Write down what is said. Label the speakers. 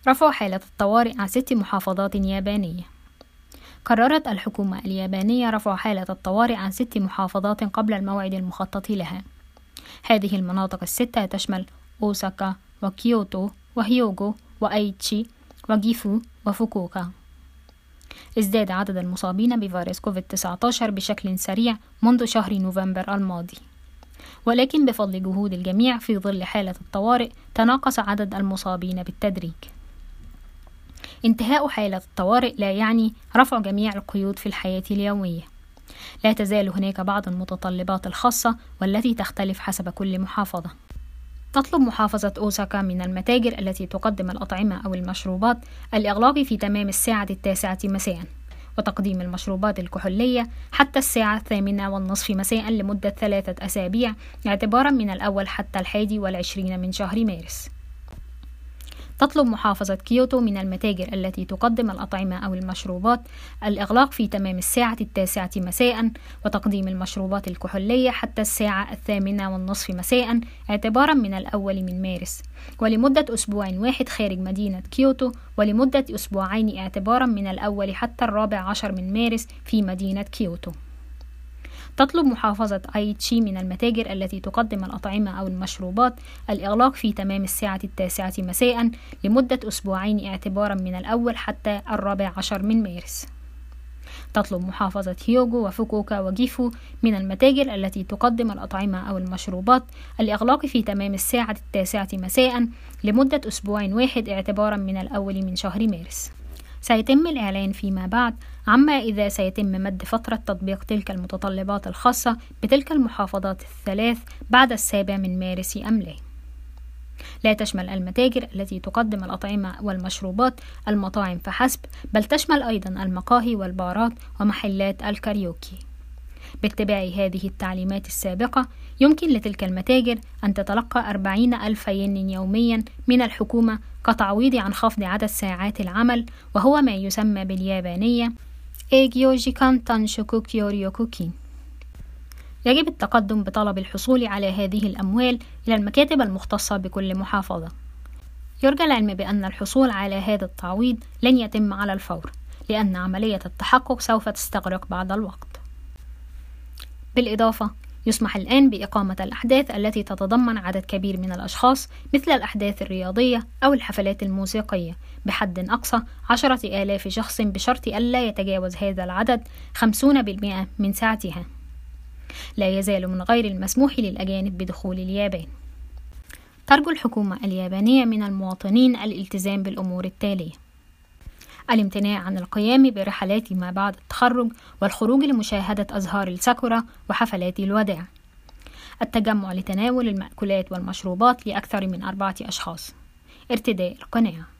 Speaker 1: رفع حالة الطوارئ عن 6 محافظات يابانية. قررت الحكومة اليابانية رفع حالة الطوارئ عن 6 محافظات قبل الموعد المخطط لها. هذه المناطق ال6 تشمل أوساكا وكيوتو وهيوغو وأيتشي وجيفو وفوكوكا. ازداد عدد المصابين بفيروس كوفيد-19 بشكل سريع منذ شهر نوفمبر الماضي، ولكن بفضل جهود الجميع في ظل حالة الطوارئ تناقص عدد المصابين بالتدريج. انتهاء حالة الطوارئ لا يعني رفع جميع القيود في الحياة اليومية. لا تزال هناك بعض المتطلبات الخاصة والتي تختلف حسب كل محافظة. تطلب محافظة أوساكا من المتاجر التي تقدم الأطعمة أو المشروبات الإغلاق في تمام الساعة 9 مساء، وتقديم المشروبات الكحولية حتى الساعة 8:30 مساء لمدة 3 أسابيع اعتبارا من الأول حتى 21 من شهر مارس. تطلب محافظة كيوتو من المتاجر التي تقدم الأطعمة أو المشروبات الإغلاق في تمام الساعة 9 مساء، وتقديم المشروبات الكحولية حتى الساعة 8:30 مساء اعتبارا من الأول من مارس، ولمدة أسبوع واحد خارج مدينة كيوتو، ولمدة أسبوعين اعتبارا من الأول حتى 14 من مارس في مدينة كيوتو. تطلب محافظة أيتشي من المتاجر التي تقدم الأطعمة أو المشروبات الإغلاق في تمام الساعة 9 مساء لمدة أسبوعين اعتبارا من الأول حتى 14 من مارس. تطلب محافظة هيوغو وفوكوكا وجيفو من المتاجر التي تقدم الأطعمة أو المشروبات الإغلاق في تمام الساعة 9 مساء لمدة أسبوع واحد اعتبارا من الأول من شهر مارس. سيتم الإعلان فيما بعد عما إذا سيتم مد فترة تطبيق تلك المتطلبات الخاصة بتلك المحافظات الثلاث بعد 7 من مارس أم لا. لا تشمل المتاجر التي تقدم الأطعمة والمشروبات المطاعم فحسب، بل تشمل أيضا المقاهي والبارات ومحلات الكاريوكي. باتباع هذه التعليمات السابقة يمكن لتلك المتاجر أن تتلقى 40,000 ين يوميا من الحكومة كتعويض عن خفض عدد ساعات العمل، وهو ما يسمى باليابانية إيجيو جيكان تانشوكو كيوريوكوكين. يجب التقدم بطلب الحصول على هذه الأموال إلى المكاتب المختصة بكل محافظة. يرجى العلم بأن الحصول على هذا التعويض لن يتم على الفور، لأن عملية التحقق سوف تستغرق بعض الوقت. بالإضافة، يسمح الآن بإقامة الأحداث التي تتضمن عدد كبير من الأشخاص مثل الأحداث الرياضية أو الحفلات الموسيقية بحد أقصى 10,000 شخص، بشرط ألا يتجاوز هذا العدد 50% من سعتها. لا يزال من غير المسموح للأجانب بدخول اليابان. ترجو الحكومة اليابانية من المواطنين الالتزام بالأمور التالية: الامتناع عن القيام برحلات ما بعد التخرج والخروج لمشاهدة أزهار الساكورا وحفلات الوداع، التجمع لتناول المأكولات والمشروبات لأكثر من 4 أشخاص، ارتداء القناع.